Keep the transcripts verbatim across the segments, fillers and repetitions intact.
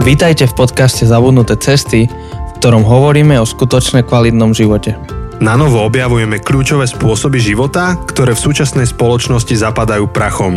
Vítajte v podcaste Zabudnuté cesty, v ktorom hovoríme o skutočne kvalitnom živote. Na novo objavujeme kľúčové spôsoby života, ktoré v súčasnej spoločnosti zapadajú prachom.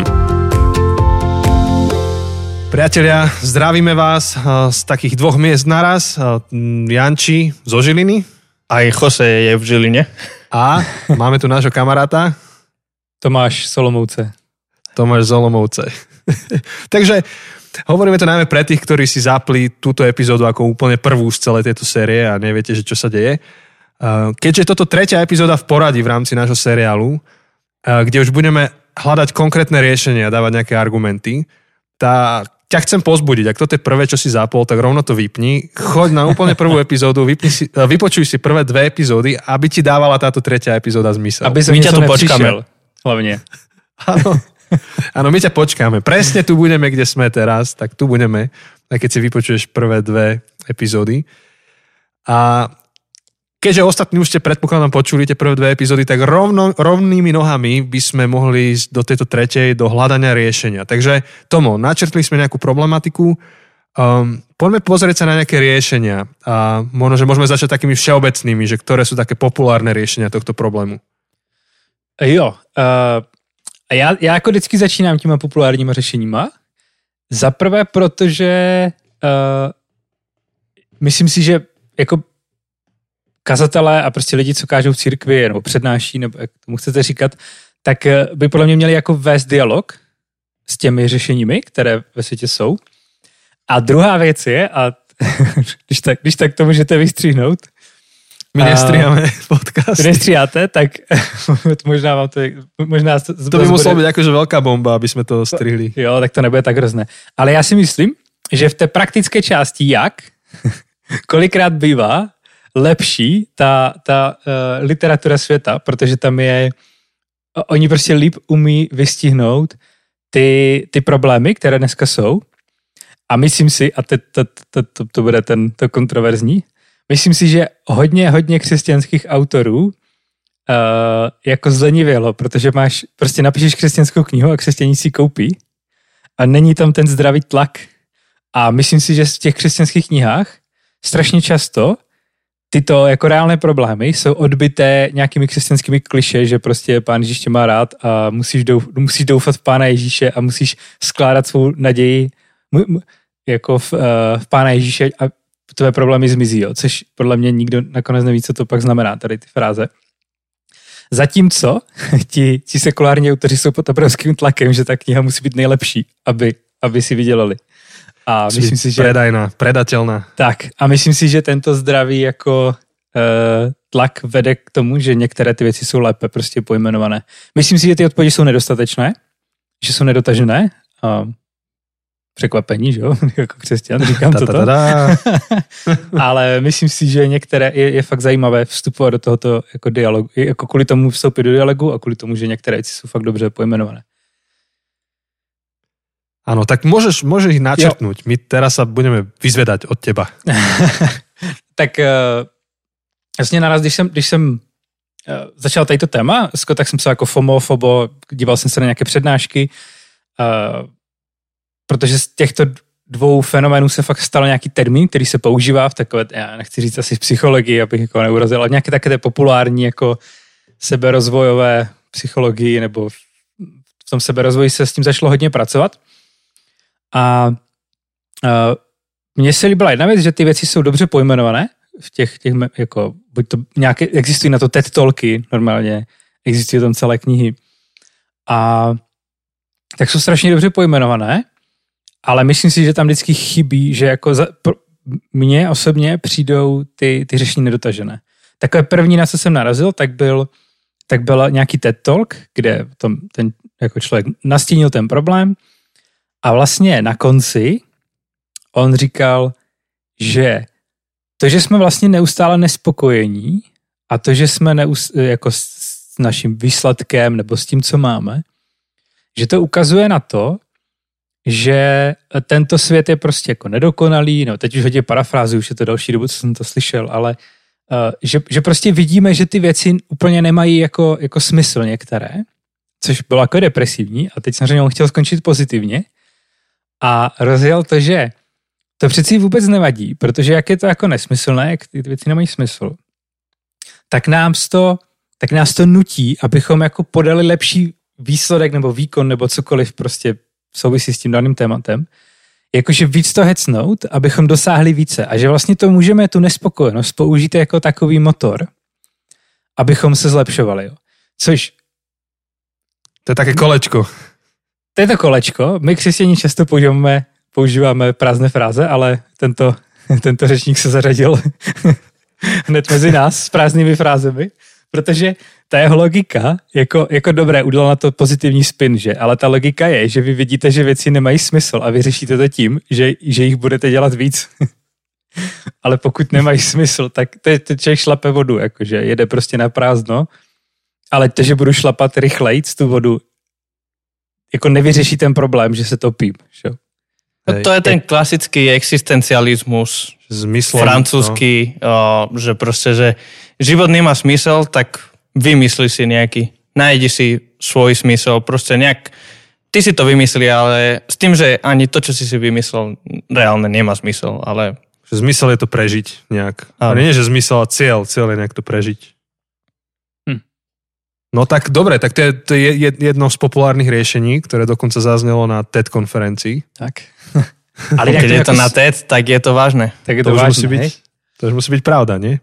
Priatelia, zdravíme vás z takých dvoch miest naraz. Janči zo Žiliny. Aj Jose je v Žiline. A máme tu nášho kamaráta. Tomáš Solomovce. Tomáš Solomovce. Takže hovoríme to najmä pre tých, ktorí si zapli túto epizódu ako úplne prvú z celej tejto série a neviete, že čo sa deje. Keďže toto tretia epizóda v poradí v rámci nášho seriálu, kde už budeme hľadať konkrétne riešenia a dávať nejaké argumenty, tak ťa chcem pozbudiť. Ak toto je prvé, čo si zapol, tak rovno to vypni. Choď na úplne prvú epizódu, vypni si, vypočuj si prvé dve epizódy, aby ti dávala táto tretia epizóda zmysel. Aby my ťa tu počkáme. Hlavne. Áno. Áno, my ťa počkáme. Presne tu budeme, kde sme teraz, tak tu budeme, aj keď si vypočuješ prvé dve epizódy. A keďže ostatní už ste predpokladám počuli tie prvé dve epizódy, tak rovno, rovnými nohami by sme mohli ísť do tejto tretej, do hľadania riešenia. Takže Tomo, načrtli sme nejakú problematiku, um, poďme pozrieť sa na nejaké riešenia a možno, že môžeme začať takými všeobecnými, že ktoré sú také populárne riešenia tohto problému. Jo, uh... A já, já jako vždycky začínám těma populárníma řešeníma. Za prvé, protože uh, myslím si, že jako kazatelé a prostě lidi, co kážou v církvi nebo přednáší, nebo jak tomu chcete říkat, tak by podle mě měli jako vést dialog s těmi řešeními, které ve světě jsou. A druhá věc je, a když tak, když tak to můžete vystříhnout, my nestříháme podcast. Vy nestříháte, tak možná vám to... Možná to, to by muselo být jakože velká bomba, aby jsme to strihli. Jo, tak to nebude tak hrozné. Ale já si myslím, že v té praktické části jak, kolikrát bývá lepší ta, ta uh, literatura světa, protože tam je... Oni prostě líp umí vystihnout ty, ty problémy, které dneska jsou. A myslím si, a to, to, to, to, to bude ten, to kontroverzní, myslím si, že hodně, hodně křesťanských autorů uh, jako zlenivělo, protože máš, prostě napíšeš křesťanskou knihu a křesťaní si koupí a není tam ten zdravý tlak. A myslím si, že v těch křesťanských knihách strašně často tyto jako reálné problémy jsou odbité nějakými křesťanskými kliše, že prostě Pán Ježíš tě má rád a musíš, douf, musíš doufat v Pána Ježíše a musíš skládat svou naději jako v, uh, v Pána Ježíše a tvé problémy zmizí, jo, což podle mě nikdo nakonec neví, co to pak znamená, tady ty fráze. Zatímco ti, ti sekulární autoři jsou pod obrovským tlakem, že ta kniha musí být nejlepší, aby, aby si vydělali. A myslím si, že... Predajná, predatelná. Tak, a myslím si, že tento zdravý jako uh, tlak vede k tomu, že některé ty věci jsou lépe prostě pojmenované. Myslím si, že ty odpovědi jsou nedostatečné, že jsou nedotažené. Uh, Překvapení, že jo, jako křesťan, říkám toto. Ale myslím si, že některé je, je fakt zajímavé vstupovat do tohoto jako dialogu, jako kvůli tomu vstoupit do dialogu a kvůli tomu, že některé věci jsou fakt dobře pojmenované. Ano, tak můžeš, můžeš ich načrtnúť. Jo. My teraz sa budeme vyzvedať od teba. Tak uh, jasně naraz, když jsem, když jsem uh, začal tadyto téma, tak jsem se jako FOMO, FOBO, díval jsem se na nějaké přednášky, uh, protože z těchto dvou fenoménů se fakt stal nějaký termín, který se používá v takové, já nechci říct asi v psychologii, abych jako neurazil, ale nějaké také populární jako seberozvojové psychologii nebo v tom seberozvoji se s tím začalo hodně pracovat. A, a mně se líbila jedna věc, že ty věci jsou dobře pojmenované v těch, těch jako, buď to nějaké, existují na to TED Talky normálně, existují tam celé knihy a tak jsou strašně dobře pojmenované. Ale myslím si, že tam vždycky chybí, že jako za, pro, mně osobně přijdou ty, ty řešení nedotažené. Takové první, na co jsem narazil, tak byl, tak byl nějaký TED Talk, kde tom, ten jako člověk nastínil ten problém a vlastně na konci on říkal, že to, že jsme vlastně neustále nespokojení a to, že jsme neustále, jako s naším výsledkem nebo s tím, co máme, že to ukazuje na to, že tento svět je prostě jako nedokonalý, no teď už hodně parafrázy, už je to další dobu, co jsem to slyšel, ale uh, že, že prostě vidíme, že ty věci úplně nemají jako, jako smysl některé, což bylo jako depresivní a teď samozřejmě on chtěl skončit pozitivně a rozjel to, že to přeci vůbec nevadí, protože jak je to jako nesmyslné, jak ty věci nemají smysl, tak nám to, tak nás to nutí, abychom jako podali lepší výsledek nebo výkon nebo cokoliv prostě souvisí s tím daným tématem, jakože víc to hecnout, abychom dosáhli více a že vlastně to můžeme tu nespokojenost použít jako takový motor, abychom se zlepšovali. Jo. Což... To je také kolečko. To je to kolečko. My křesťané často používáme, používáme prázdné fráze, ale tento, tento řečník se zařadil hned mezi nás s prázdnými frázemi, protože ta jeho logika, jako, jako dobré, udělal na to pozitivní spin, že? Ale ta logika je, že vy vidíte, že věci nemají smysl a vy řešíte to tím, že, že jich budete dělat víc. Ale pokud nemají smysl, tak to je, to člověk šlape vodu, jakože jede prostě na prázdno, ale to, že budu šlapat rychlejc tu vodu, jako nevyřeší ten problém, že se topím. Že? No, to je ten klasický existencializmus Zmyslom, francúzsky, no. o, že proste, že život nemá smysel, tak vymysli si nejaký, nájdi si svoj smysel, proste nejak, ty si to vymyslí, ale s tým, že ani to, čo si si vymyslel, reálne nemá smysel, ale... Zmysel je to prežiť nejak. A nie, že zmysel a cieľ, cieľ je nejak to prežiť. Hm. No tak dobre, tak to je, to je jedno z populárnych riešení, ktoré dokonca zaznelo na TED konferencii. Tak. Ale keď je to na TED, tak je to vážne. Tak je to, to, už vážne, musí byť, to už musí byť pravda, nie?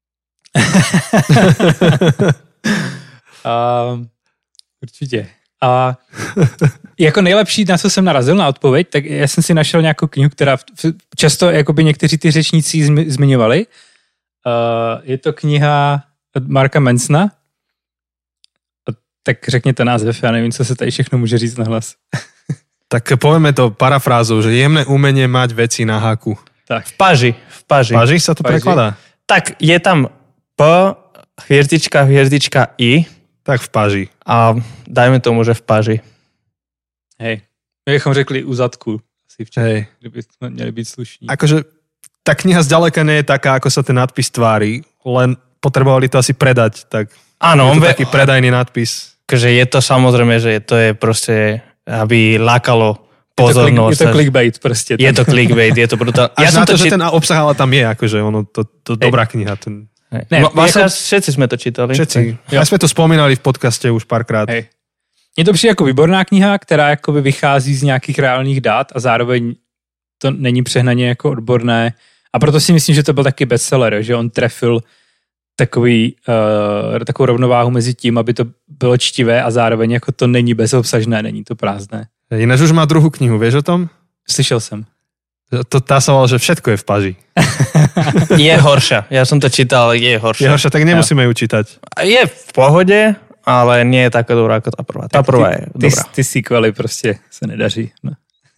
uh, určitě. A jako nejlepší, na co jsem narazil na odpověď, tak já jsem si našel nějakou knihu, která často jakoby někteří ty řečníci zmiňovali. Uh, je to kniha od Marka Mansona. Tak řekněte název, já nevím, co se tady všechno může říct nahlas. Tak povieme to parafrázou, že jemné umenie mať veci na háku. Tak. V paži. V paži. V paži sa to paži. Prekladá? Tak je tam P, hviezdička, hviezdička, I. Tak v paži. A dajme tomu, že v paži. Hej. My bychom řekli u zadku. Asi včera, Hej. kdyby sme měli byť slušní. Akože tá kniha zďaleka nie je taká, ako sa ten nadpis tvári, len potrebovali to asi predať, tak áno, je to on taký predajný nadpis. Takže je to samozrejme, že to je proste, aby lákalo pozornosť. Je to, klik, je to clickbait proste. Je to clickbait, je to brutálne. Ja som to, to, že čít... ten obsah ale tam je, akože ono, to, to dobrá kniha. Ten... Ne, vlastne ako... všetci sme to čítali. Všetci. Ja sme to spomínali v podcaste už párkrát. Hej. Je to přijde jako výborná kniha, která jakoby vychází z nějakých reálných dát a zároveň to není přehnaně jako odborné. A proto si myslím, že to byl taky bestseller, že on trefil takový, uh, takovou rovnováhu mezi tím, aby to bylo čtivé a zároveň jako to není bezobsažné, není to prázdné. Ináč už má druhou knihu, vieš o tom? Slyšel jsem. To tá sa volá, že všetko je v paži. Je horšia. Ja som to čítal, je horšia. Je horšia, tak nemusíme ju čítať. Je v pohode, ale nie je taká dobrá ako tá prvá. Tá prvá je ty, dobrá. Ty, ty sequely prostě se nedaří. No,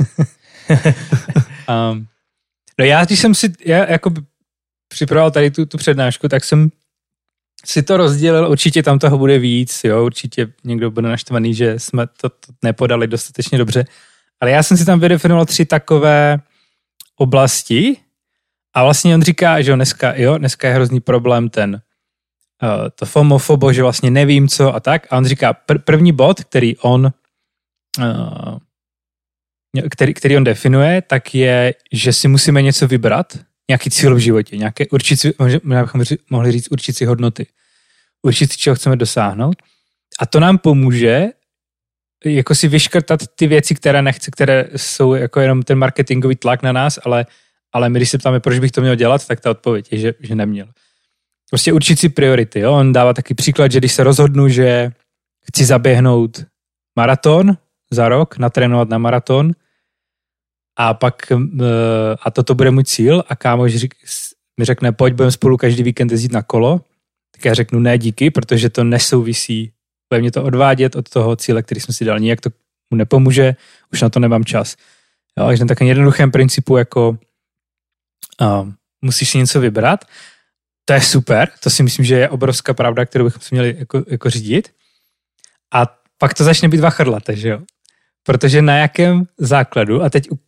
um, no já, když jsem si já jako připravoval tady tu, tu přednášku, tak jsem si to rozdělil, určitě tam toho bude víc, jo, určitě někdo bude naštvaný, že jsme to, to nepodali dostatečně dobře, ale já jsem si tam vydefinoval tři takové oblasti a vlastně on říká, že jo, dneska, jo, dneska je hrozný problém ten uh, to fomofobo, že vlastně nevím co a tak a on říká pr- první bod, který on uh, který, který on definuje, tak je, že si musíme něco vybrat, nějaký cíl v životě, nějaké určit si, možná bychom mohli říct určit si hodnoty, určit si, čeho chceme dosáhnout a to nám pomůže jako si vyškrtat ty věci, které nechce, které jsou jako jenom ten marketingový tlak na nás, ale, ale my, když se ptáme, proč bych to měl dělat, tak ta odpověď je, že, že neměl. Prostě určit si priority. Jo? On dává taky příklad, že když se rozhodnu, že chci zaběhnout maraton za rok, natrénovat na maraton a pak a toto bude můj cíl a kámoš mi řekne, pojď, budeme spolu každý víkend jezdit na kolo, tak já řeknu ne díky, protože to nesouvisí, bude mě to odvádět od toho cíle, který jsem si dal. Nijak to mu nepomůže, už na to nemám čas. Jo, takže na takovém jednoduchém principu, jako uh, musíš si něco vybrat, to je super, to si myslím, že je obrovská pravda, kterou bychom si měli jako, jako řídit. A pak to začne být vachrlaté, že jo? Protože na jakém základu, a teď u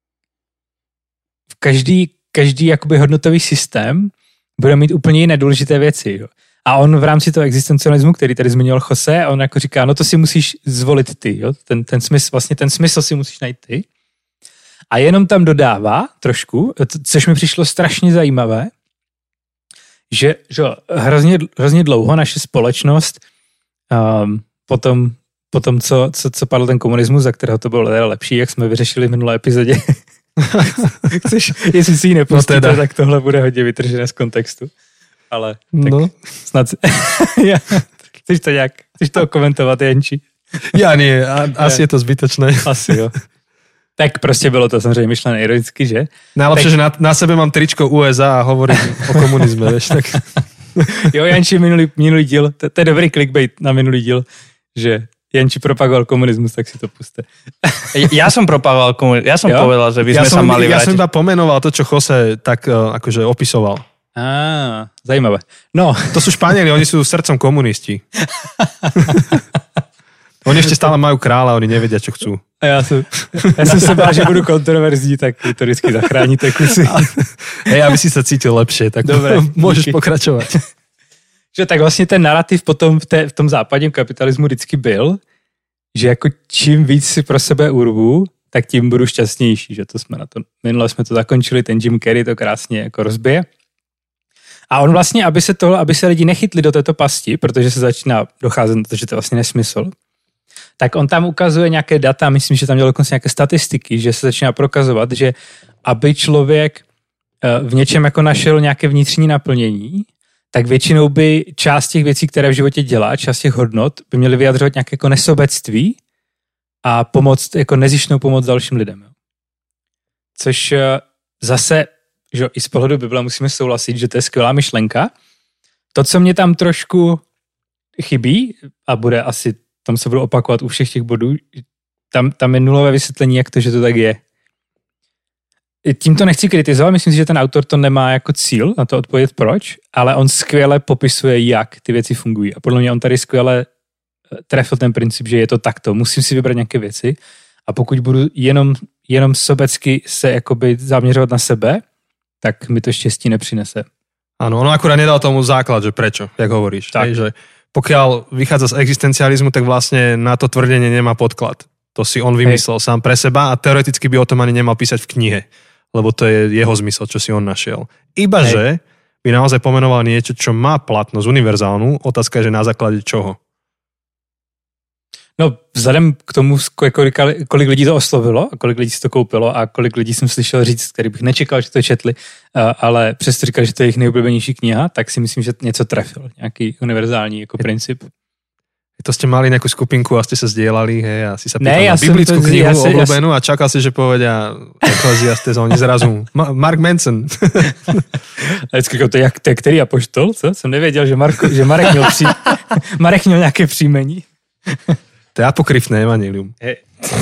každý, každý jakoby hodnotový systém bude mít úplně jiné důležité věci, jo? A on v rámci toho existencialismu, který tady zmiňoval Jose, on jako říká, no to si musíš zvolit ty, jo? Ten, ten smysl, vlastně ten smysl si musíš najít ty. A jenom tam dodává trošku, což mi přišlo strašně zajímavé, že, že hrozně, hrozně dlouho naše společnost um, potom, potom co, co, co padl ten komunismus, za kterého to bylo teda lepší, jak jsme vyřešili v minulé epizodě. Chceš, jestli si ji nepustíte, no teda. Tak tohle bude hodně vytržené z kontextu. Ale tak no. Snad... ja, chceš to nějak, chceš to komentovat, Janči? Ja nie, a, asi je to zbytočné. Asi jo. Tak prostě bylo to samozřejmě myšlené ironicky, že? Najlepšie, tak... že na, na sebe mám tričko U S A a hovorím o komunizme, vieš, tak... Jo, Janči, minulý, minulý díl, to, to je dobrý clickbait na minulý díl, že Janči propagoval komunismus, tak si to puste. Ja som propagoval komunizmus, ja som jo? povedal, že by sme ja sa som, mali ja vrátiť. Ja som iba pomenoval to, čo Jose tak uh, akože opisoval. Á, zajímavé. No. To sú Španieli, oni sú srdcom komunisti. Oni ešte stále majú kráľa, oni nevedia, čo chcú. A ja som, ja som sa bál, že budú kontroverzní, tak to vždycky zachránite kusy. Hej, aby si sa cítil lepšie, tak dobre, môžeš díky. Pokračovať. Že tak vlastně ten narrativ potom v, té, v tom západním kapitalismu vždycky byl, že jako čím víc si pro sebe urvu, tak tím budu šťastnější, že to jsme na to, minule jsme to zakončili, ten Jim Carrey to krásně jako rozbije. A on vlastně, aby se tohle, aby se lidi nechytli do této pasti, protože se začíná docházet na to, že to je vlastně nesmysl, tak on tam ukazuje nějaké data, myslím, že tam dělal dokonce nějaké statistiky, že se začíná prokazovat, že aby člověk v něčem jako našel nějaké vnitřní naplnění, tak většinou by část těch věcí, které v životě dělá, část těch hodnot, by měly vyjadřovat nějaké jako nesobectví a pomoct, jako nezištnou pomoc dalším lidem. Jo. Což zase, že i z pohledu Bible musíme souhlasit, že to je skvělá myšlenka. To, co mě tam trošku chybí, a bude asi, tam se budu opakovat u všech těch bodů, tam, tam je nulové vysvětlení, jak to, že to tak je. Tím to nechci kritizovat, myslím si, že ten autor to nemá jako cíl na to odpovědět proč, ale on skvěle popisuje, jak ty věci fungují. A podle mě on tady skvěle trefil ten princip, že je to takto. Musím si vybrat nějaké věci a pokud budu jenom, jenom sobecky se jakoby zaměřovat na sebe, tak mi to štěstí nepřinese. Áno, ono akurát nedal tomu základ, že prečo, jak hovoríš. Tak. Hej, že pokiaľ vychádza z existencializmu, tak vlastne na to tvrdenie nemá podklad. To si on vymyslel Hej. sám pre seba a teoreticky by o tom ani nemal písať v knihe, lebo to je jeho zmysel, čo si on našiel. Iba, Hej. že by naozaj pomenoval niečo, čo má platnosť univerzálnu, otázka je, že na základe čoho. No, vzhledem k tomu, kolik, kolik lidí to oslovilo a kolik lidí si to koupilo a kolik lidí jsem slyšel říct, který bych nečekal, že to četli, ale přesto říkal, že to je jejich nejoblíbenější kniha, tak si myslím, že něco trefil. Nějaký univerzální jako princip. To ste mali nejakú skupinku a ste sa zdieľali, hej, a si sa pýtal ne, na biblickú to, knihu ja si, obľúbenú ja si... a čakal si, že povedia Ecclesiastes a oni zrazu Mark Manson. A vždycky to je, to je který apoštol, co? Jsem nevěděl, že, Marko, že Marek, měl pří... Marek měl nějaké příjmení. To je apokryfné evanjelium. Hej.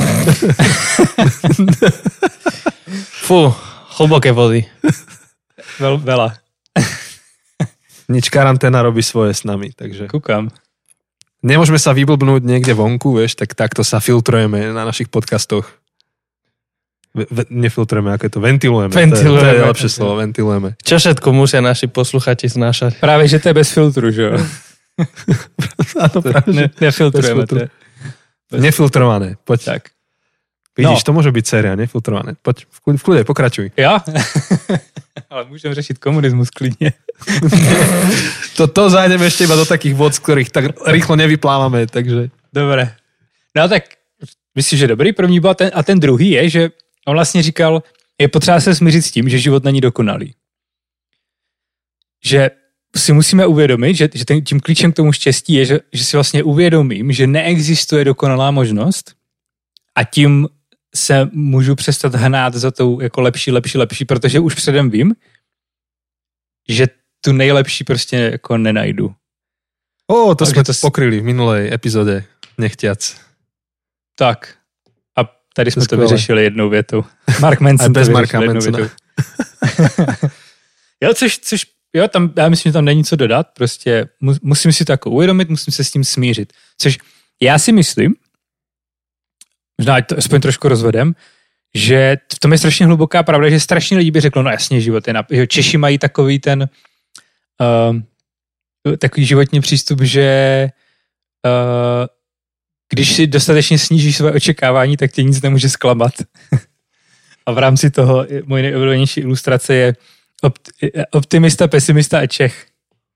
Fú, hlboké vody. Vel, veľa. Nič, karanténa robí svoje s nami, takže... Kúkam. Nemôžeme sa vyblbnúť niekde vonku, vieš, tak takto sa filtrujeme na našich podcastoch. V, nefiltrujeme, ako je to? Ventilujeme. Ventilujeme. To je, to je lepšie slovo, ventilujeme. Čo všetko musia naši posluchači znášať? Práve, že to je bez filtru, že jo? Áno, práve, ne, nefiltrujeme. To je... Nefiltrované, poď. Tak. Vidíš, no. To môže byť séria, nefiltrované. Poď, v kľude, pokračuj. Ja? Ale môžem řešiť komunizmus klidne. to, to zájdeme ešte iba do takých vod, z ktorých tak rýchlo nevyplávame, takže... Dobre. No tak, myslíš, že dobrý první bod a ten druhý je, že on vlastně říkal, je potřeba se smířit s tím, že život není dokonalý. Že si musíme uvědomit, že, že tím klíčem k tomu štěstí je, že, že si vlastně uvědomím, že neexistuje dokonalá možnost a tím se můžu přestat hnát za tou jako lepší, lepší, lepší, protože už předem vím, že tu nejlepší prostě jako nenajdu. Ó, to jsme to pokryli v minulej epizode, nechtiac. Tak. A tady jsme to, to vyřešili jednou větou. Mark Manson bez to Marka Mansona. Jo, což, což jo, tam, já myslím, že tam není co dodat, prostě musím si to jako uvědomit, musím se s tím smířit. Což já si myslím, možná to aspoň trošku rozvedem, že v tom je strašně hluboká pravda, že strašně lidí by řeklo, no jasně, život je na... Češi mají takový ten uh, takový životní přístup, že uh, když si dostatečně snížíš své očekávání, tak tě nic nemůže zklamat. a v rámci toho moje nejoblíbenější ilustrace je optimista, pesimista a Čech.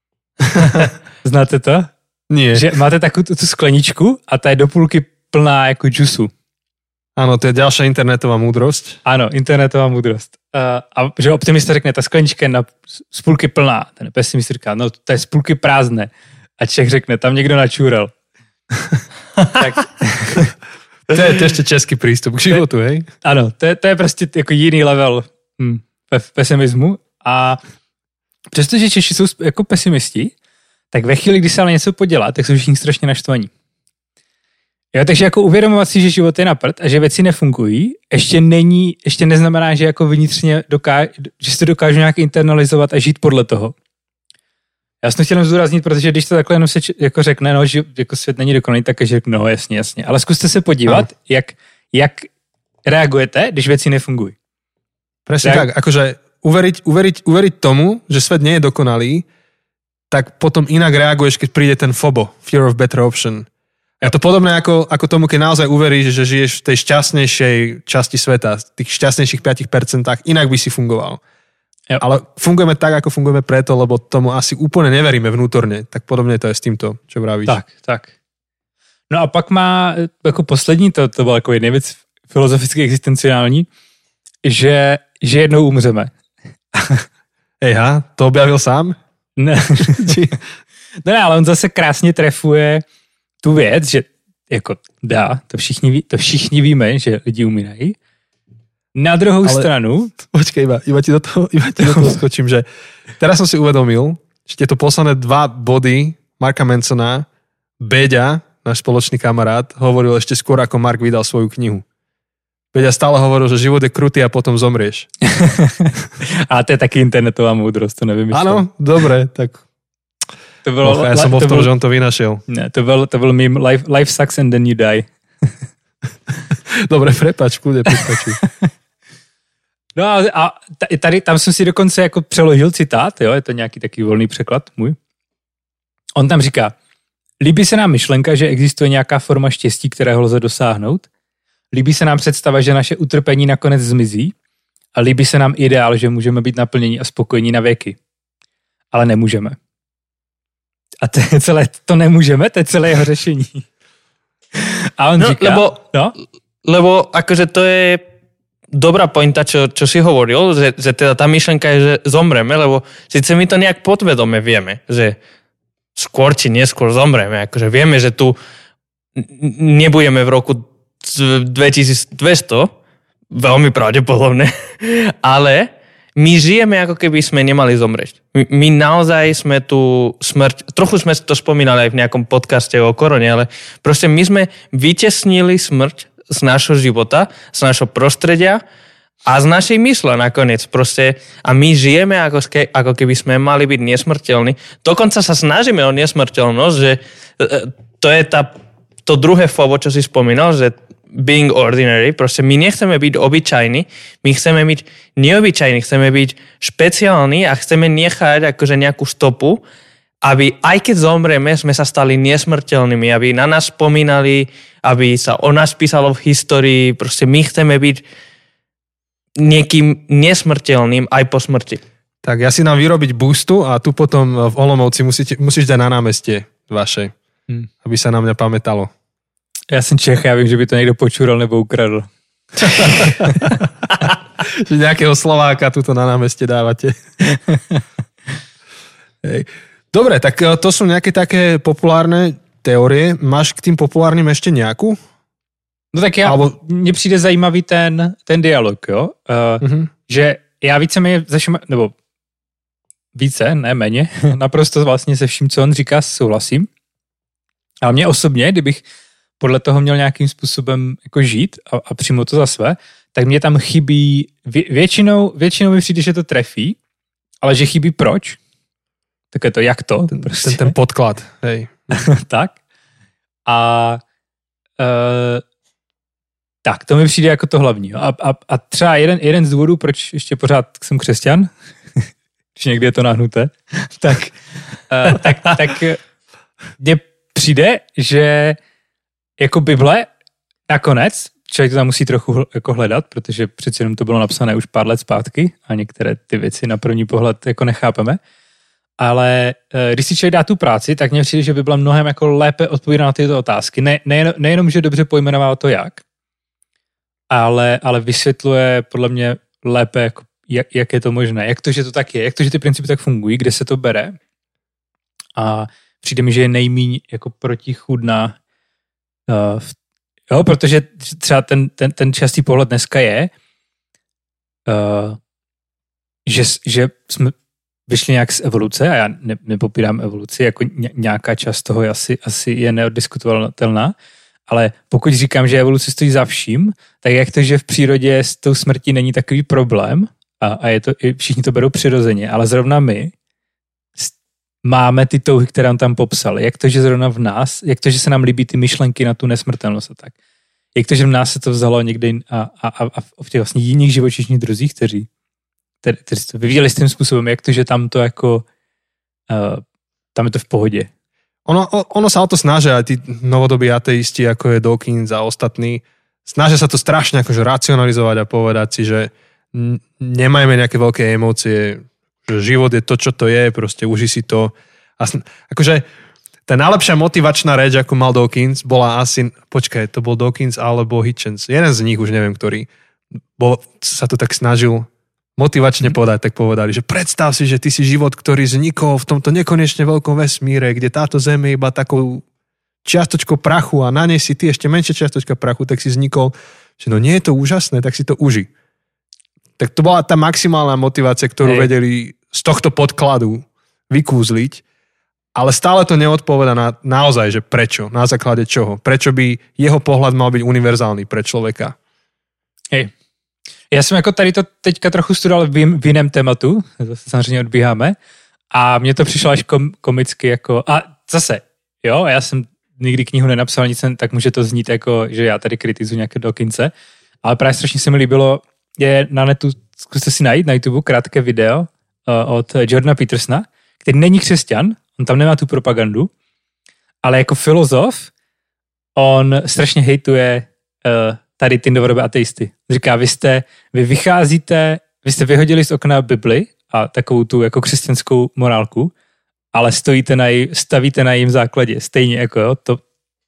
Znáte to? Nie. Že máte takovou tu skleničku a ta je do půlky plná jako džusu. Áno, to je ďalšia internetová múdrosť. Ano, internetová múdrost. Uh, a že optimista řekne, ta sklenička je na, z půlky plná. Ten pesimista říká, no to je z půlky prázdné. A Čech řekne, tam někdo načúrel. Tak... To je, to je ešte český prístup k životu, hej? Ano, to je, to je prostě jako jiný level hm, pesimismu. A přestože Češi jsou jako pesimisti, tak ve chvíli, kdy se ale něco podělá, tak jsou všichni strašně naštvaní. Jo, takže jako uvědomovat si, že život je na prd a že věci nefungují, ještě není, ještě neznamená, že jako vnitřně dokáž, že si to dokážu nějak internalizovat a žít podle toho. Já jsem chtěl zdůraznit, protože když to takhle jenom se jako řekne, no, že jako svět není dokonalý, tak že no jasně, jasně. Ale zkuste se podívat, jak, jak reagujete, když věci nefungují. Presne Reag- tak, akože uveriť, uveriť, uveriť tomu, že svet nie je dokonalý, tak potom inak reaguješ, keď príde ten FOBO, Fear of Better Option. Je to podobné ako, ako tomu, keď naozaj uveríš, že žiješ v tej šťastnejšej časti sveta, v tých šťastnejších päť percent, inak by si fungoval. Jo. Ale fungujeme tak, ako fungujeme preto, lebo tomu asi úplne neveríme vnútorne. Tak podobne to je s týmto, čo vravíš. Tak, tak. No a pak má jako poslední, to, to byla jako jedna věc filozoficky existenciální, že, že jednou umřeme. Ejha, to objavil sám? Ne. No ne, ale on zase krásně trefuje tu věc, že jako dá, to všichni, ví, to všichni víme, že lidi umírají. Na druhou ale, stranu... Počkej, iba, iba ti do toho, iba ti do toho skočím, že teraz som si uvedomil, že tieto posledné dva body Marka Mansona, Beďa, náš spoločný kamarát, hovoril ešte skôr, ako Mark vydal svoju knihu. Beďa stále hovoril, že život je krutý a potom zomrieš. A to je taky internetová múdrosť, to nevymyslel. Áno, dobre, tak... To bylo, ja som bol v tom, že on to vynašiel. Ne, to byl, to byl mým life, life sucks and then you die. Dobre, prepač, kľudne, prepačuj. No a tady, tam jsem si dokonce jako přeložil citát, jo, je to nějaký taký volný překlad můj. On tam říká, líbí se nám myšlenka, že existuje nějaká forma štěstí, kterého lze dosáhnout. Líbí se nám představa, že naše utrpení nakonec zmizí. A líbí se nám ideál, že můžeme být naplnění a spokojení na věky. Ale nemůžeme. A to je celé, to nemůžeme, to je celé jeho řešení. A on no, říká... Lebo, no? lebo akože to je dobrá pointa, čo, čo si hovoril, že, že teda tá myšlenka je, že zomreme, lebo síce my to nejak podvedome vieme, že skôr či neskôr zomreme. Akože vieme, že tu nebudeme v roku dvetisícdvesto, veľmi pravdepodobné, ale my žijeme, ako keby sme nemali zomrieť. My, my naozaj sme tu smrť, trochu sme to spomínali aj v nejakom podcaste o korone, ale proste my sme vytesnili smrť z nášho života, z nášho prostredia a z našej mysle nakoniec proste. A my žijeme, ako, ako keby sme mali byť nesmrteľní. Dokonca sa snažíme o nesmrteľnosť, že to je tá, to druhé fobo, čo si spomínal, že being ordinary, proste my nechceme byť obyčajní, my chceme byť neobyčajní, chceme byť špeciálni a chceme nechať akože nejakú stopu, aby aj keď zomrieme, sme sa stali nesmrteľnými, aby na nás spomínali, aby sa o nás písalo v histórii, proste my chceme byť niekým nesmrteľným aj po smrti. Tak ja si nám vyrobiť boostu a tu potom v Olomouci musíte, musíš dať na námestie vaše, hmm. aby sa na mňa pamätalo. Já jsem Čech, já vím, že by to někdo počúral nebo ukradl. Že nejakého Slováka tuto na námestie dávate. Hej. Dobre, tak to sú nejaké také populárne teórie. Máš k tým populárnym ešte nejakú? No tak já, Albo... mně přijde zajímavý ten, ten dialog, jo? Uh, uh-huh. Že já víceméně ze všem, nebo více, ne méně, naprosto vlastně se vším, co on říká, souhlasím. Ale mě osobně, kdybych podle toho měl nějakým způsobem jako žít a, a přímo to za své, tak mě tam chybí, vě, většinou, většinou mi přijde, že to trefí, ale že chybí proč. Tak je to jak to? Ten, prostě. ten, ten podklad, hej. Tak. A uh, tak, to mi přijde jako to hlavní. A, a, a třeba jeden, jeden z důvodů, proč ještě pořád jsem křesťan, když někdy je to nahnuté, tak, uh, tak, tak mně přijde, že jako Bible nakonec člověk to tam musí trochu jako hledat, protože přeci jenom to bylo napsané už pár let zpátky a některé ty věci na první pohled jako nechápeme. Ale když si člověk dá tu práci, tak mně přijde, že by byla mnohem jako lépe odpovídat na tyto otázky. Ne, nejen, nejenom, že dobře pojmenová to jak, ale, ale vysvětluje podle mě lépe, jako, jak, jak je to možné. Jak to, že to tak je, jak to, že ty principy tak fungují, kde se to bere. A přijde mi, že je nejmíň jako protichůdná. Uh, jo, protože třeba ten, ten, ten častý pohled dneska je, uh, že, že jsme vyšli nějak z evoluce a já ne, nepopírám evoluci, jako nějaká část toho je asi, asi je neoddiskutovatelná, ale pokud říkám, že evoluce stojí za vším, tak jak to, že v přírodě s tou smrtí není takový problém a, a je to, všichni to berou přirozeně, ale zrovna my máme ty touhy, které on tam popsal. Jak to, že zrovna v nás, jak to, že se nám líbí ty myšlenky na tu nesmrtelnost a tak. Jak to, že v nás se to vzalo někde a, a, a v těch vlastně jiných živočišných druzích, kteří kteří to vyvíjeli s tím způsobem, jak to, že tam to jako uh, tam je to v pohodě. Ono, ono sa o to snažia aj tí novodobí ateisti, ako je Dawkins a ostatní. Snažia sa to strašne akože racionalizovať a povedať si, že nemajme nejaké veľké emócie, že život je to, čo to je, proste uži si to. A sn- akože tá najlepšia motivačná reč, ako mal Dawkins, bola asi, počkaj, to bol Dawkins alebo Hitchens. Jeden z nich, už neviem, ktorý bol, sa to tak snažil motivačne povedať, tak povedali, že predstav si, že ty si život, ktorý vznikol v tomto nekonečne veľkom vesmíre, kde táto Zem je iba takou čiastočkou prachu a na nej si ty ešte menšia čiastočka prachu, tak si vznikol, že no nie je to úžasné, tak si to uži. Tak to bola tá maximálna motivácia, ktorú Hej. vedeli z tohto podkladu vykúzliť, ale stále to neodpoveda na naozaj, že prečo, na základe čoho, prečo by jeho pohľad mal byť univerzálny pre človeka. Hej. Já jsem jako tady to teďka trochu studoval v, v jiném tématu, zase samozřejmě odbíháme, a mně to přišlo až kom, komicky jako, a zase, jo, já jsem nikdy knihu nenapsal, nic, tak může to znít jako, že já tady kritizuji nějaké Dawkinse, ale právě strašně se mi líbilo, je na netu, zkuste si najít na YouTube krátké video uh, od Jordana Petersona, který není křesťan, on tam nemá tu propagandu, ale jako filozof, on strašně hejtuje uh, tady ty novodobé ateisty. Říká, vy jste, vy vycházíte, vy jste vyhodili z okna Bibli a takovou tu jako křesťanskou morálku, ale stojíte na jí, stavíte na jejím základě. Stejně jako, jo, to,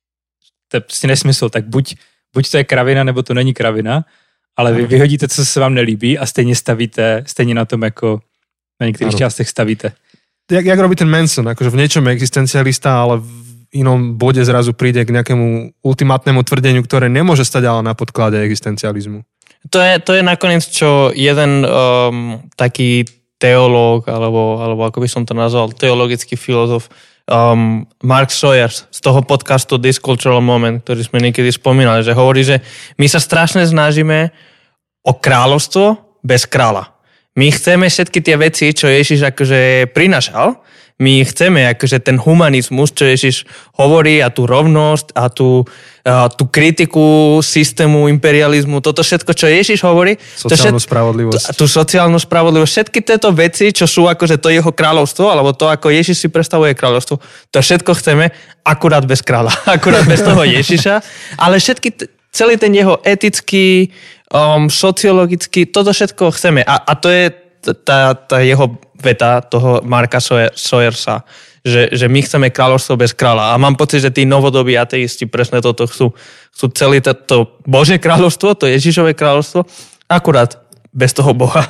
to je prostě nesmysl. Tak buď, buď to je kravina, nebo to není kravina, ale vy vyhodíte, co se vám nelíbí a stejně stavíte, stejně na tom jako na některých ano. částech stavíte. Jak, jak robí ten Manson, akože v niečom je existencialista, ale v inom bode zrazu príde k nejakému ultimátnemu tvrdeniu, ktoré nemôže stať ale na podklade existencializmu. To je, to je nakoniec, čo jeden um, taký teológ, alebo, alebo ako by som to nazval, teologický filozof, um, Mark Sawyers z toho podcastu This Cultural Moment, ktorý sme niekedy spomínali, že hovorí, že my sa strašne snažíme o kráľovstvo bez kráľa. My chceme všetky tie veci, čo Ježiš akože prinašal, my chceme akože ten humanizmus, čo Ježiš hovorí, a tú rovnosť a tú, a tú kritiku systému imperializmu, toto všetko, čo Ježiš hovorí. Sociálnu všet, spravodlivosť. Tú sociálnu spravodlivosť. Všetky tieto veci, čo sú akože to jeho kráľovstvo, alebo to, ako Ježiš si predstavuje kráľovstvo, to všetko chceme akurát bez kráľa, akurát bez toho Ježiša, ale všetky, celý ten jeho etický, um, sociologický, toto všetko chceme. A, a to je tá, tá jeho veta toho Marka Sawyersa, že, že my chceme kráľovstvo bez kráľa. A mám pocit, že tí novodobí ateisti presne toto chcú. Chcú celé to Božie kráľovstvo, to Ježišové kráľovstvo, akurát bez toho Boha.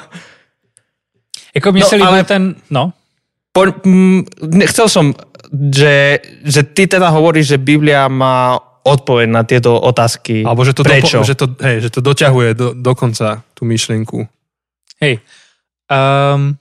Jako mne no, sa líbil ten... No. Po, m, chcel som, že, že ty teda hovoríš, že Biblia má odpoveď na tieto otázky. Alebo že to, prečo? Dopo, že to, hej, že to doťahuje do, dokonca tú myšlienku. Hej. Um,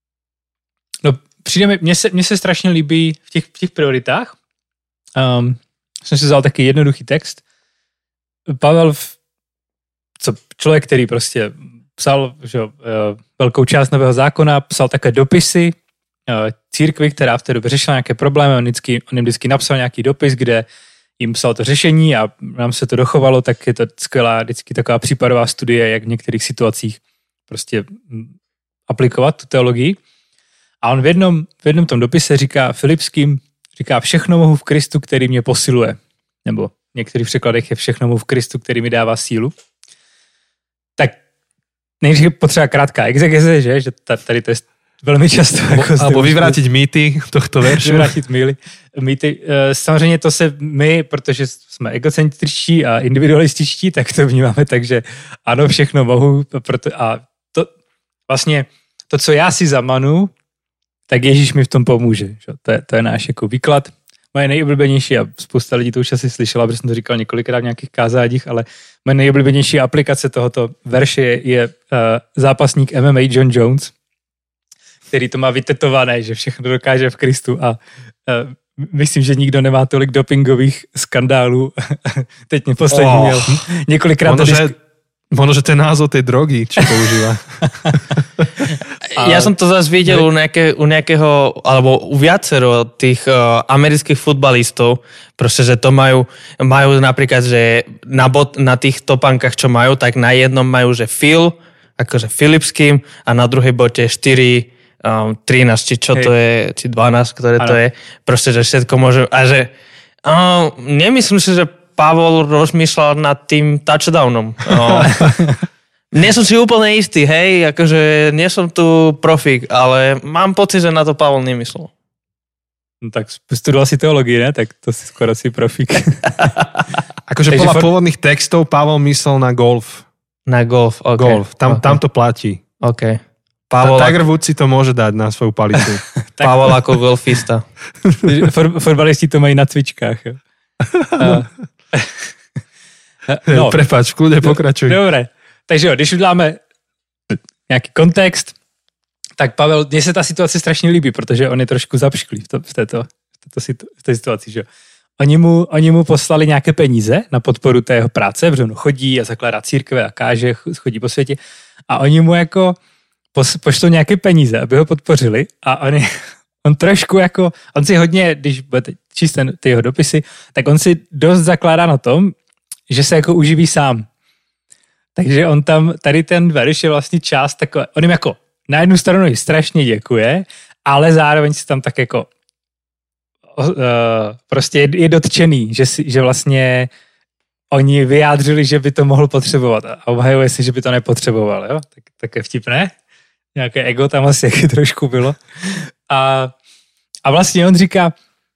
no přijde mi, mně se, mně se strašně líbí v těch, v těch prioritách. Um, jsem si vzal taky jednoduchý text. Pavel, co člověk, který prostě psal že, uh, velkou část Nového zákona, psal také dopisy uh, církvi, která v té době řešila nějaké problémy. On, vždycky, on jim vždycky napsal nějaký dopis, kde jim psal to řešení a nám se to dochovalo, tak je to skvělá vždycky taková případová studie, jak v některých situacích prostě aplikovat tu teologii. A on v jednom, v jednom tom dopise říká Filipským, říká, všechno mohu v Kristu, který mě posiluje. Nebo v některých překladech je všechno mu v Kristu, který mi dává sílu. Tak nejdřív potřeba krátká exegeze, že? Že tady to je velmi často. Jako Alebo vyvrátit mýty tohto veršu. Vyvrátit mýly, mýty. Samozřejmě to se my, protože jsme egocentričtí a individualističtí, tak to vnímáme tak, že ano, všechno mohu. Proto, a to vlastně to, co já si zamanu, tak Ježíš mi v tom pomůže. Že? To, je, to je náš jako výklad. Moje nejoblíbenější, a spousta lidí to už asi slyšela, protože jsem to říkal několikrát v nějakých kázáních, ale moje nejoblíbenější aplikace tohoto verše je, je uh, zápasník M M A John Jones, který to má vytetované, že všechno dokáže v Kristu a uh, myslím, že nikdo nemá tolik dopingových skandálů. Teď mě poslední oh. měl několikrát... Ono, že, ono, že ten názov tej drogy, čo používa. Ja som to zase videl u, nejaké, u nejakého, alebo u viacero tých uh, amerických futbalistov, proste, že to majú, majú napríklad, že na, bot, na tých topánkach, čo majú, tak na jednom majú, že Phil, akože Philipským, a na druhej bote štyri, um, trinásť, či čo Hej. to je, či dvanásť, ktoré ano. to je. Proste, že všetko môže, a že uh, nemyslím si, že Pavol rozmýšľal nad tým touchdownom. Uh, Nie som si úplne istý, hej, akože nie som tu profík, ale mám pocit, že na to Pavol nemyslel. No tak studoval si teológii, ne? Tak to si skoro si profík. Akože podľa for... pôvodných textov Pavol myslel na golf. Na golf, ok. Golf, tam, okay. tam to platí. Ok. Pavol Tiger Woods si to môže dať na svoju palicu. Pavol ako golfista. For, Fotbalisti to mají na cvičkách. Jo. Uh, no. Prepáč, v kľude pokračuj. Dobre. Takže jo, když uděláme nějaký kontext, tak Pavel, mně se ta situace strašně líbí, protože on je trošku zapšklý v, to, v, této, v, této, v té situaci. Že? Oni, mu, oni mu poslali nějaké peníze na podporu té jeho práce, protože on chodí a zakládá církve a káže, chodí po světě a oni mu jako pos, pošlou nějaké peníze, aby ho podpořili a on, je, on trošku jako, on si hodně, když budete číst ten, ty jeho dopisy, tak on si dost zakládá na tom, že se jako uživí sám. Takže on tam, tady ten verš je vlastně část takové, on jim jako na jednu stranu ji strašně děkuje, ale zároveň si tam tak jako uh, prostě je, je dotčený, že, si, že vlastně oni vyjádřili, že by to mohl potřebovat a obhajuje si, že by to nepotřeboval, jo? Tak, tak je vtipné. Nějaké ego tam asi jaký trošku bylo. A, a vlastně on říká,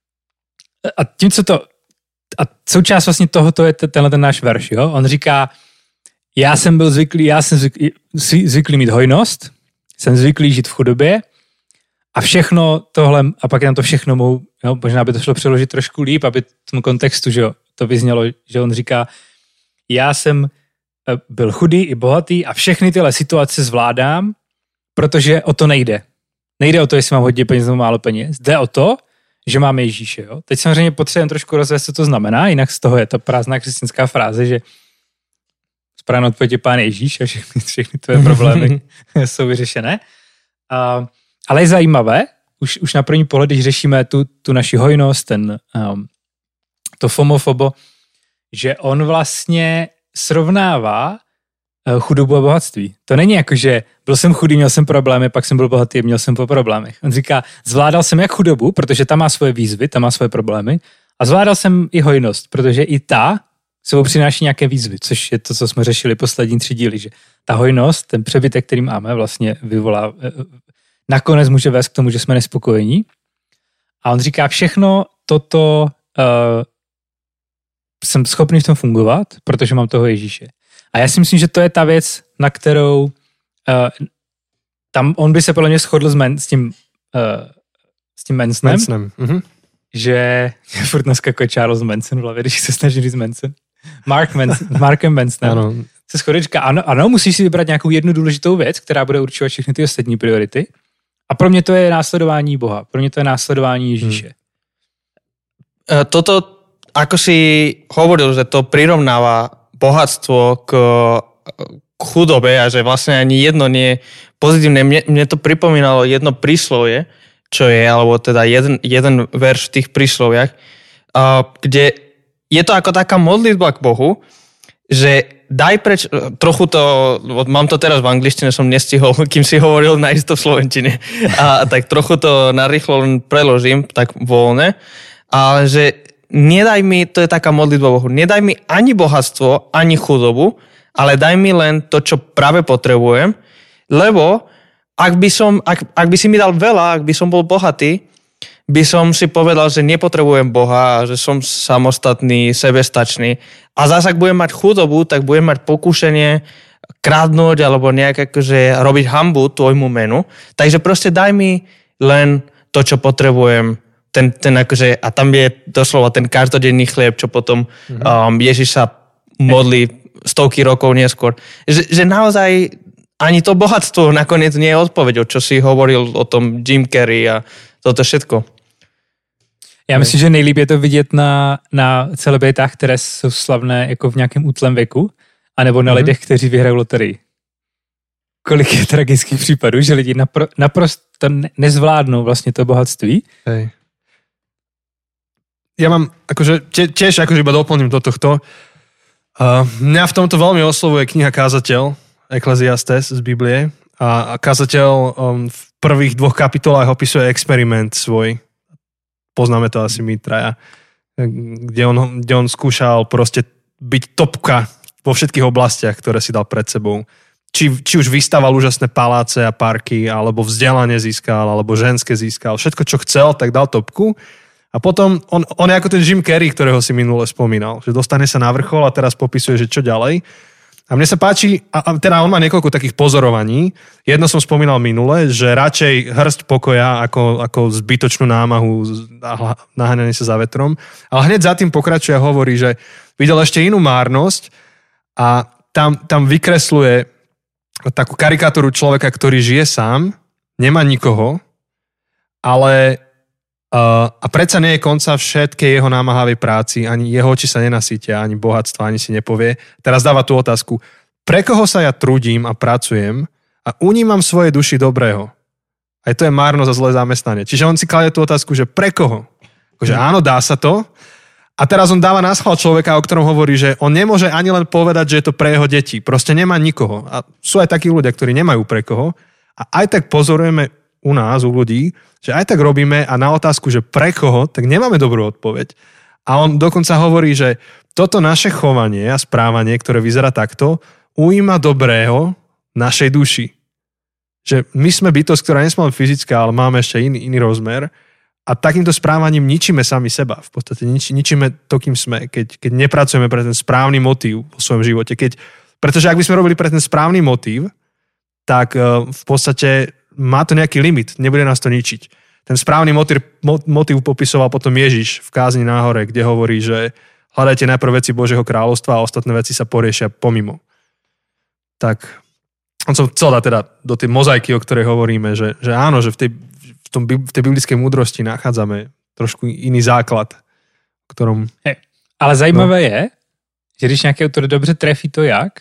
a tím, co to, a součást vlastně tohoto je tenhle ten náš verš, jo? On říká, já jsem byl zvyklý, já jsem zvyklý, zvyklý mít hojnost, jsem zvyklý žít v chudobě a všechno tohle, a pak je tam to všechno mou, jo, možná by to šlo přeložit trošku líp, aby v tom kontextu, že jo, to vyznělo, že on říká, já jsem byl chudý i bohatý a všechny tyhle situace zvládám, protože o to nejde. Nejde o to, jestli mám hodně peněz nebo málo peněz, jde o to, že máme Ježíše. Jo? Teď samozřejmě potřebujeme trošku rozvést, co to znamená, jinak z toho je ta prázdná křesťanská fráze, že správně odpověď je Pán Ježíš a všechny, všechny tvoje problémy jsou vyřešené. A, ale je zajímavé, už, už na první pohled, když řešíme tu, tu naši hojnost, ten, um, to fomofobo, že on vlastně srovnává uh, chudobu a bohatství. To není jako, že byl jsem chudý, měl jsem problémy, pak jsem byl bohatý, měl jsem po problémech. On říká, zvládal jsem jak chudobu, protože ta má svoje výzvy, ta má svoje problémy, a zvládal jsem i hojnost, protože i ta sebou přináší nějaké výzvy, což je to, co jsme řešili poslední tři díly, že ta hojnost, ten přebytek, který máme, vlastně vyvolá, nakonec může vést k tomu, že jsme nespokojení. A on říká, všechno toto uh, jsem schopný v tom fungovat, protože mám toho Ježíše. A já si myslím, že to je ta věc, na kterou uh, tam on by se podle mě shodl s, men, s tím uh, s tím Mansonem, Mansonem. Mm-hmm. že furt dneska Charles Manson v hlavě, když se snaží říct Manson. Mark Manson, Markem Mansonem. Ano. Se shodí, říká, ano, ano, musíš si vybrat nějakou jednu důležitou věc, která bude určovat všechny ty ostatní priority. A pro mě to je následování Boha. Pro mě to je následování Ježíše. Hmm. Toto, ako si hovoril, že to prirovnáva bohatstvo k, k chudobe a že vlastne ani jedno nie je pozitívne. Mne, mne to pripomínalo jedno príslovie, čo je, alebo teda jeden, jeden verš v tých prísloviach, uh, kde je to ako taká modlitba k Bohu, že daj preč, trochu to, mám to teraz v angličtine, som nestihol, kým si hovoril najisto v slovenčine, a tak trochu to narýchlo len preložím, tak voľne, ale že nedaj mi, to je taká modlitba Bohu, nedaj mi ani bohatstvo, ani chudobu, ale daj mi len to, čo práve potrebujem, lebo ak by, som, ak, ak by si mi dal veľa, ak by som bol bohatý, by som si povedal, že nepotrebujem Boha, že som samostatný, sebestačný. A zase, ak budem mať chudobu, tak budem mať pokúšanie krádnuť alebo nejak akože robiť hanbu tvojmu menu. Takže proste daj mi len to, čo potrebujem. Ten, ten akože, a tam je doslova ten každodenný chlieb, čo potom mm-hmm. um, Ježiš sa modlí stovky rokov neskôr. Že, že naozaj ani to bohatstvo nakoniec nie je odpoveďou, čo si hovoril o tom Jim Carrey a toto všetko. Já myslím, že nejlíp je to vidět na, na celebritách, které jsou slavné jako v nějakém útlém věku, anebo na mm-hmm. lidech, kteří vyhrají loterii. Kolik je tragických případů, že lidi napro, naprosto nezvládnou vlastně to bohatství. Hej. Ja mám, akože, tiež akože iba doplním do tohto. Uh, mňa v tomto veľmi oslovuje kniha Kázateľ, Ekleziastes z Biblie. A, a Kázateľ um, v prvých dvoch kapitolách opisuje experiment svoj. Poznáme to asi my traja. Kde on, kde on skúšal proste byť topka vo všetkých oblastiach, ktoré si dal pred sebou. Či, či už vystaval úžasné paláce a parky, alebo vzdelanie získal, alebo ženské získal. Všetko, čo chcel, tak dal topku. A potom on, on je ako ten Jim Carrey, ktorého si minule spomínal. Že dostane sa na vrchol a teraz popisuje, že čo ďalej. A mne sa páči, a teda on má niekoľko takých pozorovaní. Jedno som spomínal minule, že radšej hrst pokoja ako, ako zbytočnú námahu a naháňanie sa za vetrom. Ale hneď za tým pokračuje a hovorí, že videl ešte inú márnosť a tam, tam vykresluje takú karikatúru človeka, ktorý žije sám, nemá nikoho, ale uh, a predsa nie je konca všetkej jeho námahavej práci, ani jeho oči sa nenasítia, ani bohatstva, ani si nepovie. Teraz dáva tú otázku, pre koho sa ja trudím a pracujem a unímam svoje duši dobrého. Aj to je márnosť a zlé zamestnanie. Čiže on si kladie tú otázku, že pre koho? Že áno, dá sa to. A teraz on dáva na schvál človeka, o ktorom hovorí, že on nemôže ani len povedať, že je to pre jeho deti. Proste nemá nikoho. A sú aj takí ľudia, ktorí nemajú pre koho. A aj tak pozorujeme u nás, u ľudí, že aj tak robíme a na otázku, že pre koho, tak nemáme dobrú odpoveď. A on dokonca hovorí, že toto naše chovanie a správanie, ktoré vyzerá takto, ujíma dobrého našej duši. Že my sme bytosť, ktorá nie sme len fyzická, ale máme ešte iný, iný rozmer. A takýmto správaním ničíme sami seba. V podstate nič, ničíme to, kým sme, keď, keď nepracujeme pre ten správny motív vo svojom živote. Keď, pretože ak by sme robili pre ten správny motív, tak uh, v podstate má to nejaký limit, nebude nás to ničiť. Ten správny motív, motív popisoval potom Ježiš v kázni na hore, kde hovorí, že hľadajte najprv veci Božieho kráľovstva a ostatné veci sa poriešia pomimo. Tak on som chcel dať teda do tej mozaiky, o ktorej hovoríme, že, že áno, že v tej V, tom, v tej biblickej múdrosti nachádzame trošku iný základ, ktorom... Hey, ale zajímavé no. je, že když nějaký autor dobře trefí to jak,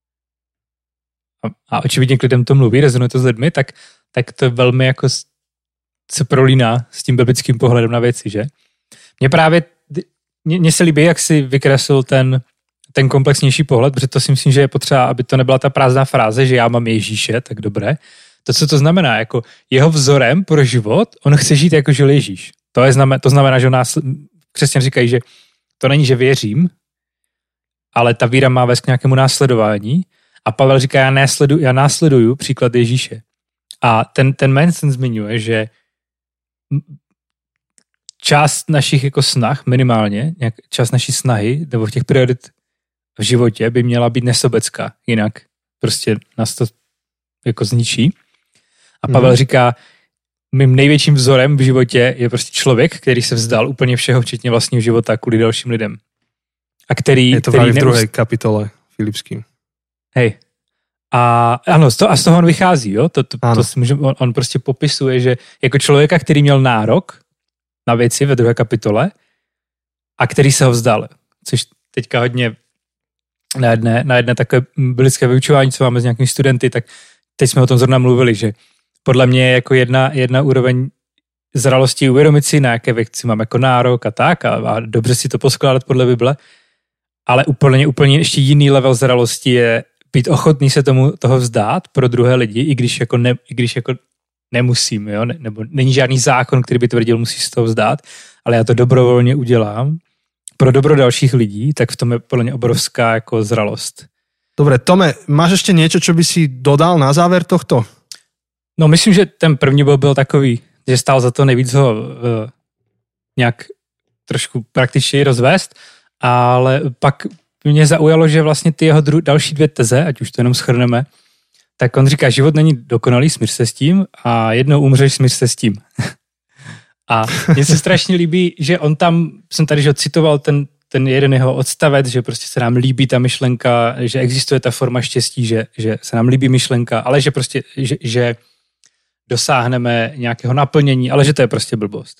a, a očividně k lidem to mluví, rezonuje to s lidmi, tak, tak to velmi jako se prolíná s tím biblickým pohledem na věci, že? Mně právě, mně se líbí, jak si vykreslil ten, ten komplexnější pohled, protože to si myslím, že je potřeba, aby to nebyla ta prázdná fráze, že já mám Ježíše, tak dobré. To, co to znamená, jako jeho vzorem pro život, on chce žít jako žil Ježíš. To, je znamen, to znamená, že nás křesťané říkají, že to není, že věřím, ale ta víra má vést k nějakému následování. A Pavel říká, já následuju, já následuju příklad Ježíše. A ten, ten Manson zmiňuje, že část našich jako snah, minimálně, nějak, část naší snahy, nebo těch priorit v životě by měla být nesobecká. Jinak prostě nás to jako zničí. A Pavel hmm. říká, mým největším vzorem v životě je prostě člověk, který se vzdal úplně všeho, včetně vlastního života kvůli dalším lidem. A který... Je to který v druhé neust... kapitole Filipským. Hej. A ano, z toho, a z toho on vychází, jo? To, to, to si můžem, on, on prostě popisuje, že jako člověka, který měl nárok na věci ve druhé kapitole a který se ho vzdal. Což teďka hodně na jedné, na jedné takové biblické vyučování, co máme s nějakými studenty, tak teď jsme o tom zrovna mluvili, že podle mě je jako jedna, jedna úroveň zralosti uvědomit si, na jaké věci mám jako nárok a tak a, a dobře si to poskládat podle Bible, ale úplně, úplně ještě jiný level zralosti je být ochotný se tomu toho vzdát pro druhé lidi, i když jako, ne, i když jako nemusím, jo? Ne, nebo není žádný zákon, který by tvrdil, musíš se toho vzdát, ale já to dobrovolně udělám pro dobro dalších lidí, tak v tom je podľa mňa obrovská jako zralost. Dobre, Tome, máš ešte niečo, čo by si dodal na záver tohto? No myslím, že ten první bod byl takový, že stál za to nejvíc ho uh, nějak trošku praktičněji rozvést, ale pak mě zaujalo, že vlastně ty jeho dru- další dvě teze, ať už to jenom shrneme, tak on říká, život není dokonalý, smíř se s tím a jednou umřeš, smíř se s tím. A mně se strašně líbí, že on tam, jsem tady že citoval ten, ten jeden jeho odstavec, že prostě se nám líbí ta myšlenka, že existuje ta forma štěstí, že, že se nám líbí myšlenka, ale že prostě, že, že dosáhneme nějakého naplnění, ale že to je prostě blbost.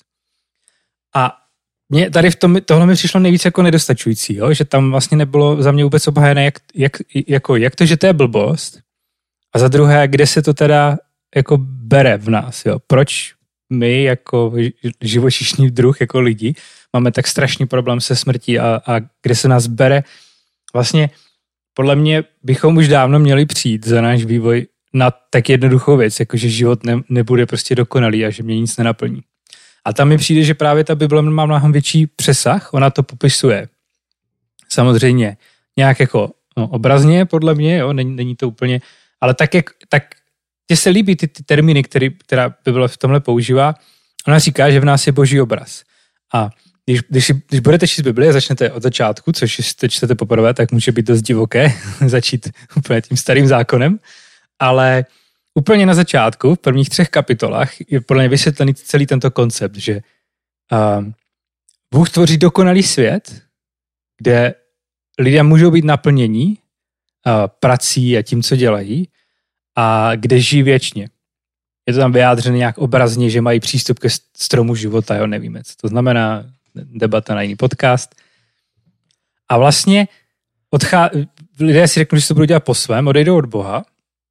A mě tady v tom, tohle mi přišlo nejvíc jako nedostačující, jo? Že tam vlastně nebylo za mě vůbec obhájené, jak, jak, jako, jak to, že to je blbost, a za druhé, kde se to teda jako bere v nás, jo? Proč my jako živočišný druh, jako lidi, máme tak strašný problém se smrtí a, a kde se nás bere. Vlastně podle mě bychom už dávno měli přijít za náš vývoj na tak jednoduchou věc, jako že život ne, nebude prostě dokonalý a že mě nic nenaplní. A tam mi přijde, že právě ta Bible má mnohem větší přesah, ona to popisuje samozřejmě nějak jako no, obrazně, podle mě, jo, není, není to úplně, ale tak, jak, tak mně se líbí ty, ty termíny, který, která Bible v tomhle používá. Ona říká, že v nás je boží obraz. A když, když, když budete číst Bibli a začnete od začátku, což jestli čtete poprvé, tak může být dost divoké začít úplně tím starým zákonem, ale úplně na začátku, v prvních třech kapitolách, je podle mě vysvětlený celý tento koncept, že uh, Bůh tvoří dokonalý svět, kde lidé můžou být naplnění uh, prací a tím, co dělají, a kde žijí věčně. Je to tam vyjádřené nějak obrazně, že mají přístup ke stromu života, jo, nevíme, co to znamená, debata na jiný podcast. A vlastně odchá... lidé si řeknou, že to budou dělat po svém, odejdou od Boha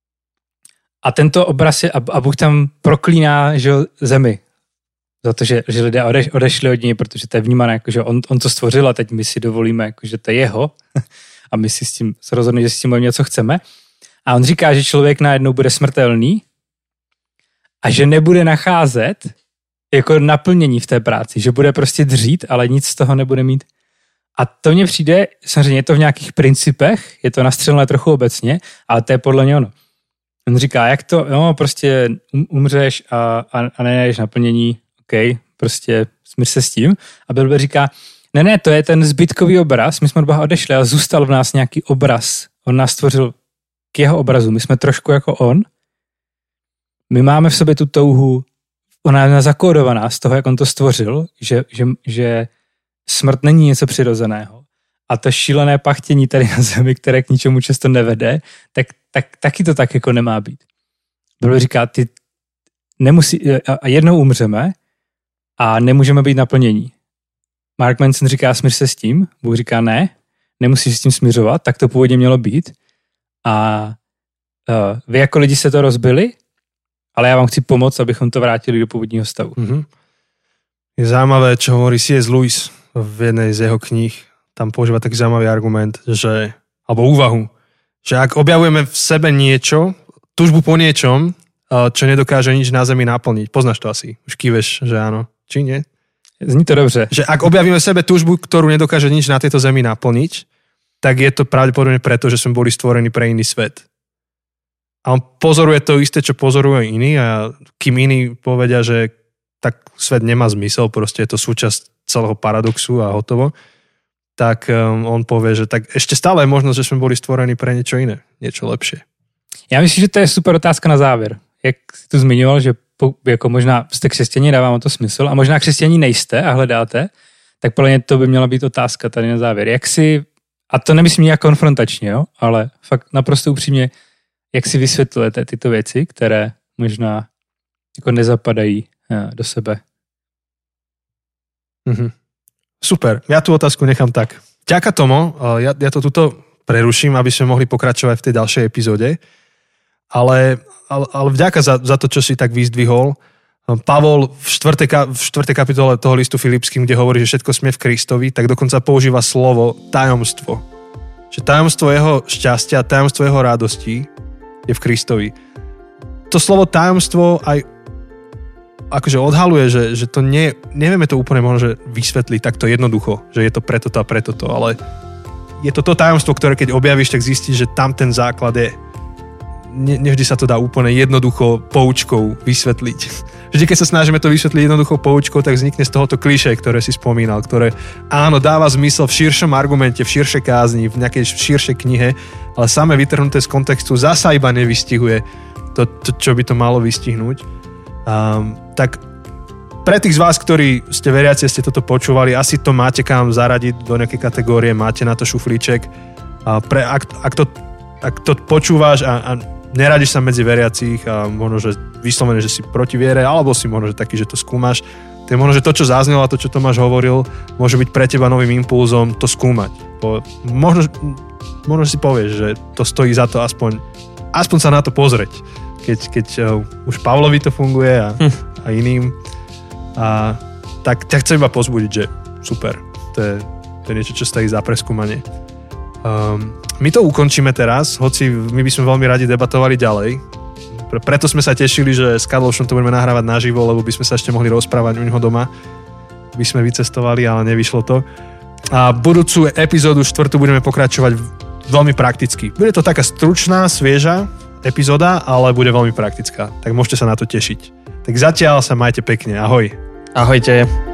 a tento obraz je, a Bůh tam proklíná, že zemi za to, že, že lidé odeš, odešli od něj, protože to je vnímané, jako, že on, on to stvořil a teď my si dovolíme, jako, že to je jeho a my si s tím se rozhodneme, že s tím budeme něco chceme. A on říká, že člověk najednou bude smrtelný a že nebude nacházet jako naplnění v té práci, že bude prostě dřít, ale nic z toho nebude mít. A to mně přijde, samozřejmě je to v nějakých principech, je to nastřelené trochu obecně, ale to je podle něj ono. On říká, jak to, no prostě umřeš a, a, a nenajdeš naplnění, OK, prostě smíř se s tím. A Bible říká, ne, ne, to je ten zbytkový obraz, my jsme od Boha odešli a zůstal v nás nějaký obraz. On nás stvořil k jeho obrazu, my jsme trošku jako on. My máme v sobě tu touhu, ona je zakódovaná z toho, jak on to stvořil, že, že, že smrt není něco přirozeného. A to šílené pachtění tady na zemi, které k ničemu často nevede, tak, tak taky to tak jako nemá být. Bible říká, ty nemusí, a jednou umřeme a nemůžeme být naplnění. Mark Manson říká, smíř se s tím, Bůh říká, ne, nemusíš s tím směřovat, tak to původně mělo být. A uh, vy jako lidi se to rozbili, ale já vám chci pomoct, abychom to vrátili do původního stavu. Mm-hmm. Je zaujímavé, čo hovorí C S. Lewis v jednej z jeho kníh. Tam používa taký zaujímavý argument, že, alebo úvahu, že ak objavujeme v sebe niečo, túžbu po niečom, čo nedokáže nič na zemi naplniť. Poznáš to asi, už kýveš, že áno. Či nie? Zní to dobře. Že ak objavíme v sebe túžbu, ktorú nedokáže nič na tejto zemi naplniť, tak je to pravdepodobne preto, že sme boli stvorení pre iný svet. A on pozoruje to isté, čo pozoruje iní a kým iní povedia, že tak svet nemá zmysel, proste je to súčasť celého paradoxu a hotovo, tak um, on povie, že tak ešte stále je možnosť, že sme boli stvorení pre niečo iné, niečo lepšie. Já myslím, že to je super otázka na závěr. Jak jsi tu zmiňoval, že po, jako možná jste křesťaní, dává vám to smysl, a možná křesťaní nejste a hledáte, tak podle mě to by měla být otázka tady na závěr. Jak si, a to nemyslím nějak konfrontačně, jo, ale fakt naprosto upřímně, jak si vysvětlujete tyto věci, které možná jako nezapadají do sebe. Mhm. Super, ja tú otázku nechám tak. Ďaká Tomo, ja, ja to tuto preruším, aby sme mohli pokračovať v tej ďalšej epizóde, ale, ale, ale vďaka za, za to, čo si tak vyzdvihol. Pavol v štvrtej, v štvrtej kapitole toho listu Filipským, kde hovorí, že všetko sme v Kristovi, tak dokonca používa slovo tajomstvo. Že tajomstvo jeho šťastia, tajomstvo jeho radosti je v Kristovi. To slovo tajomstvo aj akože odhaluje, že, že to nie, nevieme to úplne možno, že vysvetliť takto jednoducho, že je to preto to a preto to, ale je to to tajomstvo, ktoré keď objavíš, tak zistíš, že tam ten základ je. Ne, nevždy sa to dá úplne jednoducho poučkou vysvetliť. Vždy, keď sa snažíme to vysvetliť jednoducho poučkou, tak vznikne z tohoto klišé, ktoré si spomínal, ktoré áno, dáva zmysel v širšom argumente, v širšej kázni, v nejakej širšej knihe, ale samé vytrhnuté z kontextu zasa iba nevystihuje to, to čo by to malo vystihnúť. Um, tak pre tých z vás, ktorí ste veriaci, ste toto počúvali, asi to máte kam zaradiť do nejakej kategórie, máte na to šuflíček. A pre, ak, ak, to, ak to počúvaš a, a neradiš sa medzi veriacich a možno, že vyslovene, že si proti viere, alebo si možno, že taký, že to skúmaš, to je možno, že to, čo zaznelo a to, čo Tomáš hovoril, môže byť pre teba novým impulzom to skúmať. Po, možno, možno si povieš, že to stojí za to aspoň, aspoň sa na to pozrieť. Keď, keď uh, už Pavlovi to funguje a, hm. a iným. A tak ťa chcem iba pozbudiť, že super. To je, to je niečo, čo stojí za preskúmanie. Um, my to ukončíme teraz, hoci my by sme veľmi radi debatovali ďalej. Pre, preto sme sa tešili, že s Karlošom to budeme nahrávať naživo, lebo by sme sa ešte mohli rozprávať u neho doma. By sme vycestovali, ale nevyšlo to. A budúcu epizódu štvrtú budeme pokračovať veľmi prakticky. Bude to taká stručná, svieža epizóda, ale bude veľmi praktická. Tak môžete sa na to tešiť. Tak zatiaľ sa majte pekne. Ahoj. Ahojte.